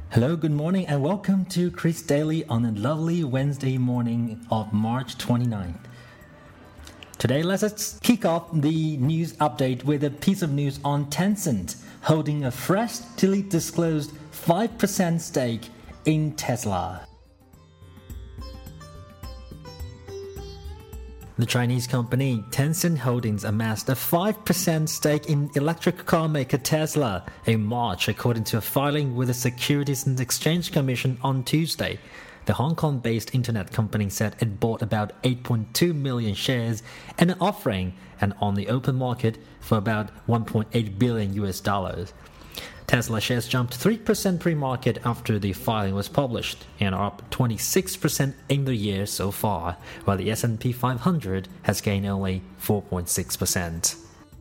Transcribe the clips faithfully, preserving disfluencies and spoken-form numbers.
Hello, good morning, and welcome to Chris Daily on a lovely Wednesday morning of March twenty-ninth. Today, let's kick off the news update with a piece of news on Tencent holding a freshly disclosed five percent stake in Tesla. The Chinese company Tencent Holdings amassed a five percent stake in electric car maker Tesla in March, according to a filing with the Securities and Exchange Commission on Tuesday. The Hong Kong-based internet company said it bought about eight point two million shares in an offering and on the open market for about one point eight billion U S dollars. Tesla shares jumped three percent pre-market after the filing was published and are up twenty-six percent in the year so far, while the S and P five hundred has gained only four point six percent.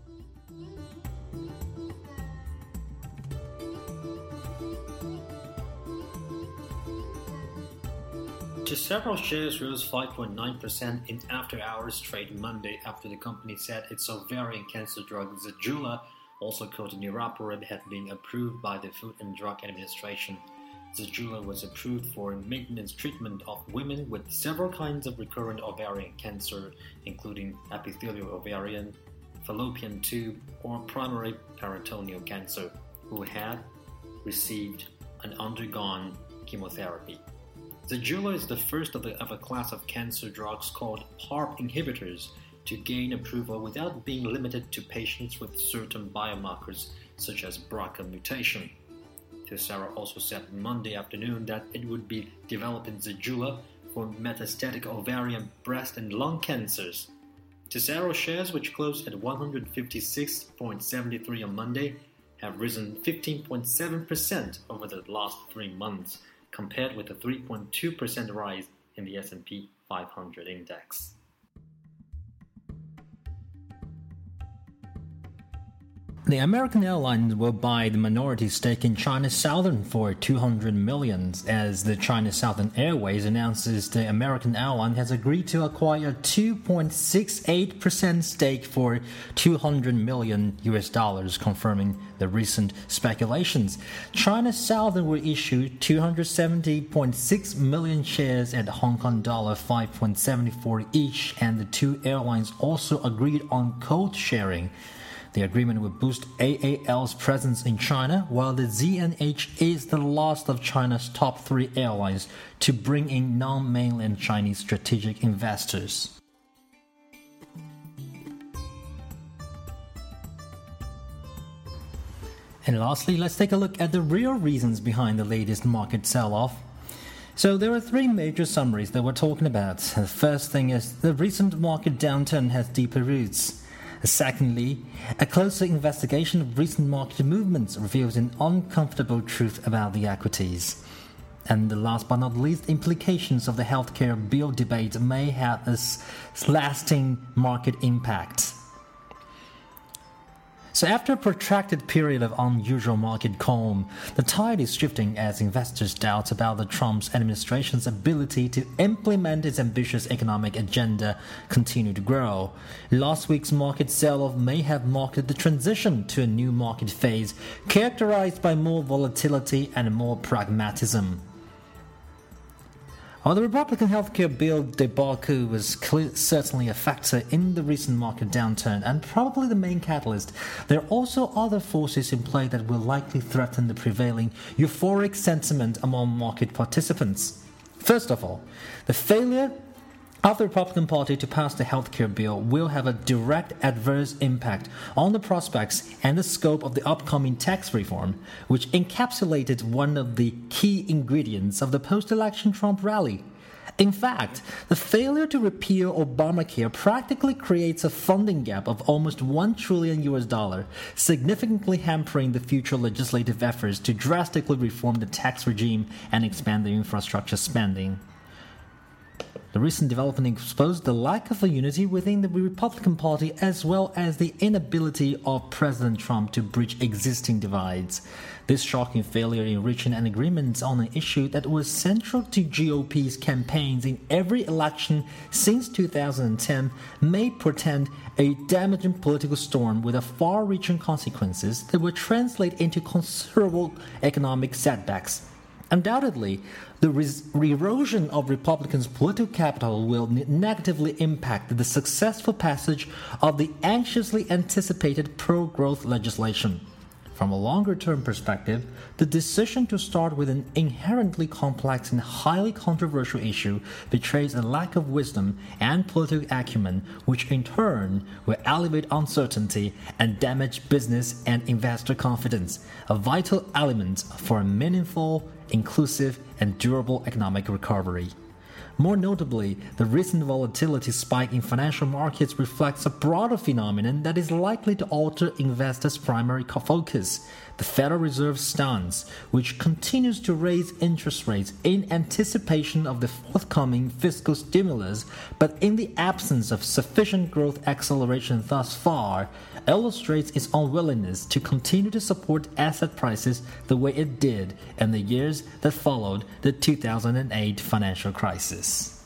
Several shares rose five point nine percent in after-hours trade Monday after the company said its ovarian cancer drug Zejula, also called niraparib, had been approved by the Food and Drug Administration. Zejula was approved for maintenance treatment of women with several kinds of recurrent ovarian cancer, including epithelial ovarian, fallopian tube, or primary peritoneal cancer, who had received and undergone chemotherapy. Zejula is the first of, the, of a class of cancer drugs called PARP inhibitors to gain approval without being limited to patients with certain biomarkers such as B R C A mutation. Tesara also said Monday afternoon that it would be developing Zejula for metastatic ovarian, breast, and lung cancers. Tesaro shares, which closed at one hundred fifty-six point seven three on Monday, have risen fifteen point seven percent over the last three months, compared with a three point two percent rise in the S and P five hundred index. The American airlines will buy the minority stake in China Southern for two hundred million dollars, as the China Southern Airways announces the American airline has agreed to acquire a two point six eight percent stake for two hundred million U S dollars, confirming the recent speculations. China Southern will issue two hundred seventy point six million shares at Hong Kong dollar five point seven four each, and the two airlines also agreed on code sharing. The agreement will boost A A L's presence in China, while the Z N H is the last of China's top three airlines to bring in non-mainland Chinese strategic investors. And lastly, let's take a look at the real reasons behind the latest market sell-off. So there are three major summaries that we're talking about. The first thing is the recent market downturn has deeper roots. Secondly, a closer investigation of recent market movements reveals an uncomfortable truth about the equities. And the last but not least, implications of the healthcare bill debate may have a lasting market impact. So after a protracted period of unusual market calm, the tide is shifting as investors doubt about the Trump's administration's ability to implement its ambitious economic agenda continue to grow. Last week's market sell-off may have marked the transition to a new market phase characterized by more volatility and more pragmatism. While the Republican healthcare bill debacle was clear, certainly a factor in the recent market downturn and probably the main catalyst, there are also other forces in play that will likely threaten the prevailing euphoric sentiment among market participants. First of all, the failure of the Republican Party to pass the healthcare bill will have a direct adverse impact on the prospects and the scope of the upcoming tax reform, which encapsulated one of the key ingredients of the post-election Trump rally. In fact, the failure to repeal Obamacare practically creates a funding gap of almost one trillion U S dollar, significantly hampering the future legislative efforts to drastically reform the tax regime and expand the infrastructure spending. The recent development exposed the lack of a unity within the Republican Party as well as the inability of President Trump to bridge existing divides. This shocking failure in reaching an agreement on an issue that was central to G O P's campaigns in every election since two thousand ten may portend a damaging political storm with far-reaching consequences that will translate into considerable economic setbacks. Undoubtedly, the res- erosion of Republicans' political capital will ne- negatively impact the successful passage of the anxiously anticipated pro-growth legislation. From a longer-term perspective, the decision to start with an inherently complex and highly controversial issue betrays a lack of wisdom and political acumen, which in turn will elevate uncertainty and damage business and investor confidence, a vital element for a meaningful, inclusive, and durable economic recovery. More notably, the recent volatility spike in financial markets reflects a broader phenomenon that is likely to alter investors' primary focus: the Federal Reserve's stance, which continues to raise interest rates in anticipation of the forthcoming fiscal stimulus, but in the absence of sufficient growth acceleration thus far, illustrates its unwillingness to continue to support asset prices the way it did in the years that followed the two thousand eight financial crisis.